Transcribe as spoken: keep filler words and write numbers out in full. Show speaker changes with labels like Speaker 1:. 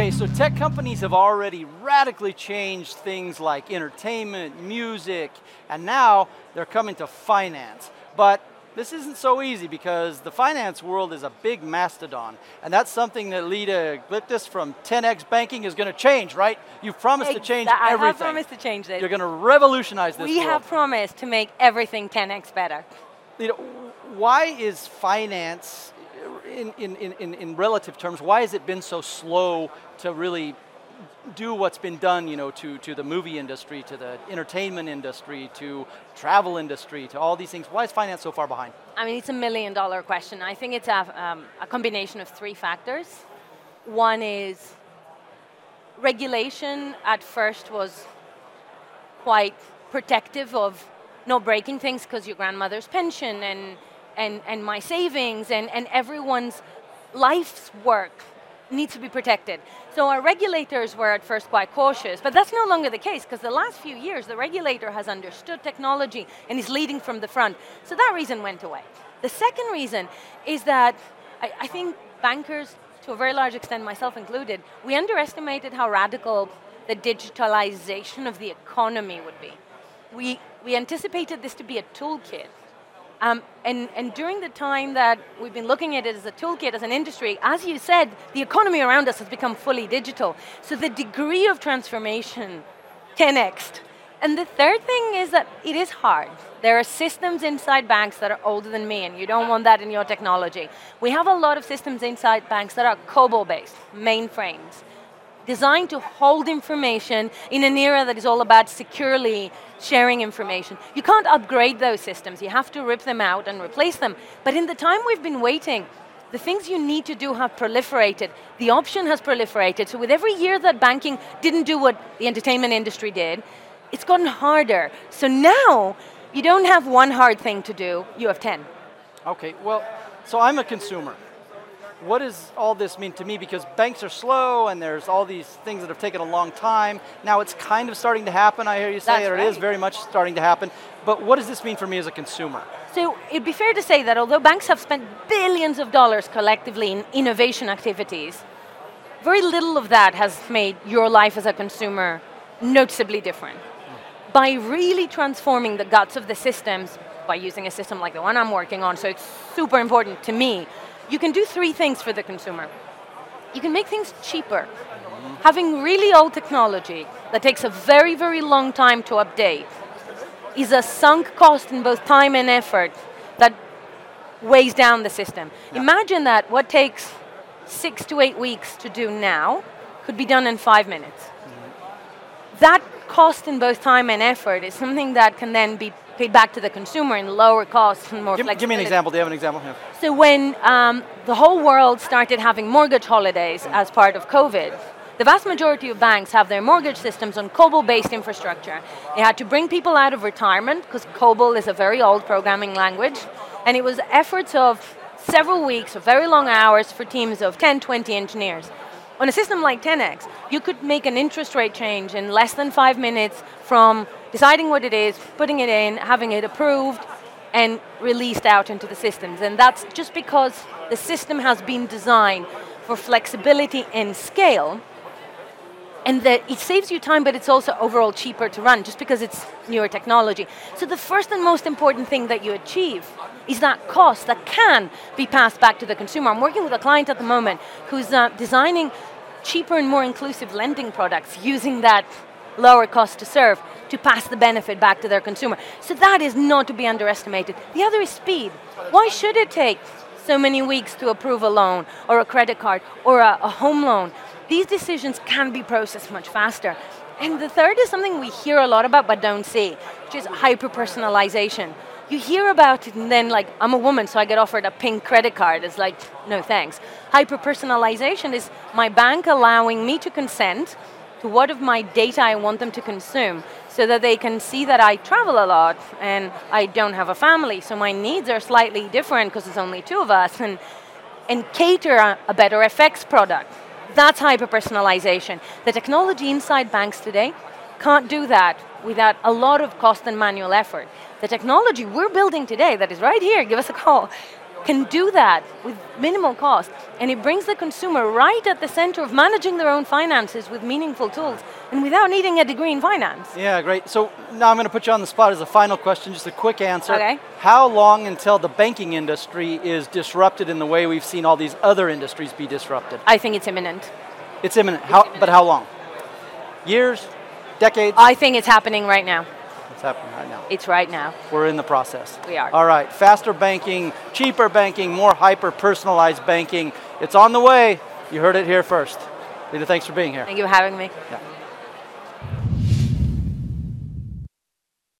Speaker 1: Okay, so tech companies have already radically changed things like entertainment, music, and now they're coming to finance. But this isn't so easy because the finance world is a big mastodon, and that's something that Lida Glyptis from ten X Banking is going to change, right? You've promised
Speaker 2: Exactly.
Speaker 1: to change
Speaker 2: I
Speaker 1: everything.
Speaker 2: have promised to change this.
Speaker 1: You're going to revolutionize this
Speaker 2: We
Speaker 1: world.
Speaker 2: have promised to make everything ten X better.
Speaker 1: Lida, why is finance, in, in, in, in relative terms, why has it been so slow to really do what's been done, you know, to, to the movie industry, to the entertainment industry, to travel industry, to all these things? Why is finance so far behind?
Speaker 2: I mean, it's a million dollar question. I think it's a, um, a combination of three factors. One is regulation at first was quite protective of not breaking things because your grandmother's pension and, and, and my savings and, and everyone's life's work needs to be protected. So our regulators were at first quite cautious, but that's no longer the case because the last few years the regulator has understood technology and is leading from the front. So that reason went away. The second reason is that I, I think bankers, to a very large extent, myself included, we underestimated how radical the digitalization of the economy would be. We, we anticipated this to be a toolkit. Um, and, and during the time that we've been looking at it as a toolkit, as an industry, as you said, the economy around us has become fully digital. So the degree of transformation, ten X'd. And the third thing is that it is hard. There are systems inside banks that are older than me, and you don't want that in your technology. We have a lot of systems inside banks that are COBOL-based, mainframes, designed to hold information in an era that is all about securely sharing information. You can't upgrade those systems. You have to rip them out and replace them. But in the time we've been waiting, the things you need to do have proliferated. The option has proliferated. So with every year that banking didn't do what the entertainment industry did, it's gotten harder. So now, you don't have one hard thing to do, you have ten.
Speaker 1: Okay, well, so I'm a consumer. What does all this mean to me? Because banks are slow and there's all these things that have taken a long time. Now it's kind of starting to happen, I hear you say,
Speaker 2: That's
Speaker 1: or it
Speaker 2: right.
Speaker 1: is very much starting to happen. But what does this mean for me as a consumer?
Speaker 2: So it'd be fair to say that although banks have spent billions of dollars collectively in innovation activities, very little of that has made your life as a consumer noticeably different. Mm. By really transforming the guts of the systems, by using a system like the one I'm working on, so it's super important to me, you can do three things for the consumer. You can make things cheaper. Mm-hmm. Having really old technology that takes a very, very long time to update is a sunk cost in both time and effort that weighs down the system. Yeah. Imagine that what takes six to eight weeks to do now could be done in five minutes. Mm-hmm. That cost in both time and effort is something that can then be paid back to the consumer in lower costs and more
Speaker 1: give,
Speaker 2: flexibility.
Speaker 1: Give me an example. Do you have an example? Yeah.
Speaker 2: So when um, the whole world started having mortgage holidays as part of COVID, the vast majority of banks have their mortgage systems on COBOL-based infrastructure. They had to bring people out of retirement because COBOL is a very old programming language, and it was efforts of several weeks of very long hours for teams of ten, twenty engineers. On a system like ten X, you could make an interest rate change in less than five minutes from deciding what it is, putting it in, having it approved, and released out into the systems. And that's just because the system has been designed for flexibility and scale, and that it saves you time, but it's also overall cheaper to run, just because it's newer technology. So the first and most important thing that you achieve is that cost that can be passed back to the consumer. I'm working with a client at the moment who's uh, designing cheaper and more inclusive lending products using that lower cost to serve to pass the benefit back to their consumer. So that is not to be underestimated. The other is speed. Why should it take so many weeks to approve a loan or a credit card or a, a home loan? These decisions can be processed much faster. And the third is something we hear a lot about but don't see, which is hyper-personalization. You hear about it and then like, I'm a woman, so I get offered a pink credit card. It's like, no thanks. Hyper-personalization is my bank allowing me to consent to what of my data I want them to consume so that they can see that I travel a lot and I don't have a family, so my needs are slightly different because there's only two of us, and, and cater a, a better F X product. That's hyper-personalization. The technology inside banks today can't do that without a lot of cost and manual effort. The technology we're building today that is right here, give us a call, can do that with minimal cost. And it brings the consumer right at the center of managing their own finances with meaningful tools and without needing a degree in finance.
Speaker 1: Yeah, great. So now I'm going to put you on the spot as a final question, just a quick answer.
Speaker 2: Okay.
Speaker 1: How long until the banking industry is disrupted in the way we've seen all these other industries be disrupted?
Speaker 2: I think it's imminent.
Speaker 1: It's imminent. How, but how long? Years? Decades?
Speaker 2: I think it's happening right now.
Speaker 1: It's happening right now.
Speaker 2: It's right now.
Speaker 1: We're in the process.
Speaker 2: We are.
Speaker 1: All right. Faster banking, cheaper banking, more hyper-personalized banking. It's on the way. You heard it here first. Lita, thanks for being here.
Speaker 2: Thank you for having me.
Speaker 1: Yeah.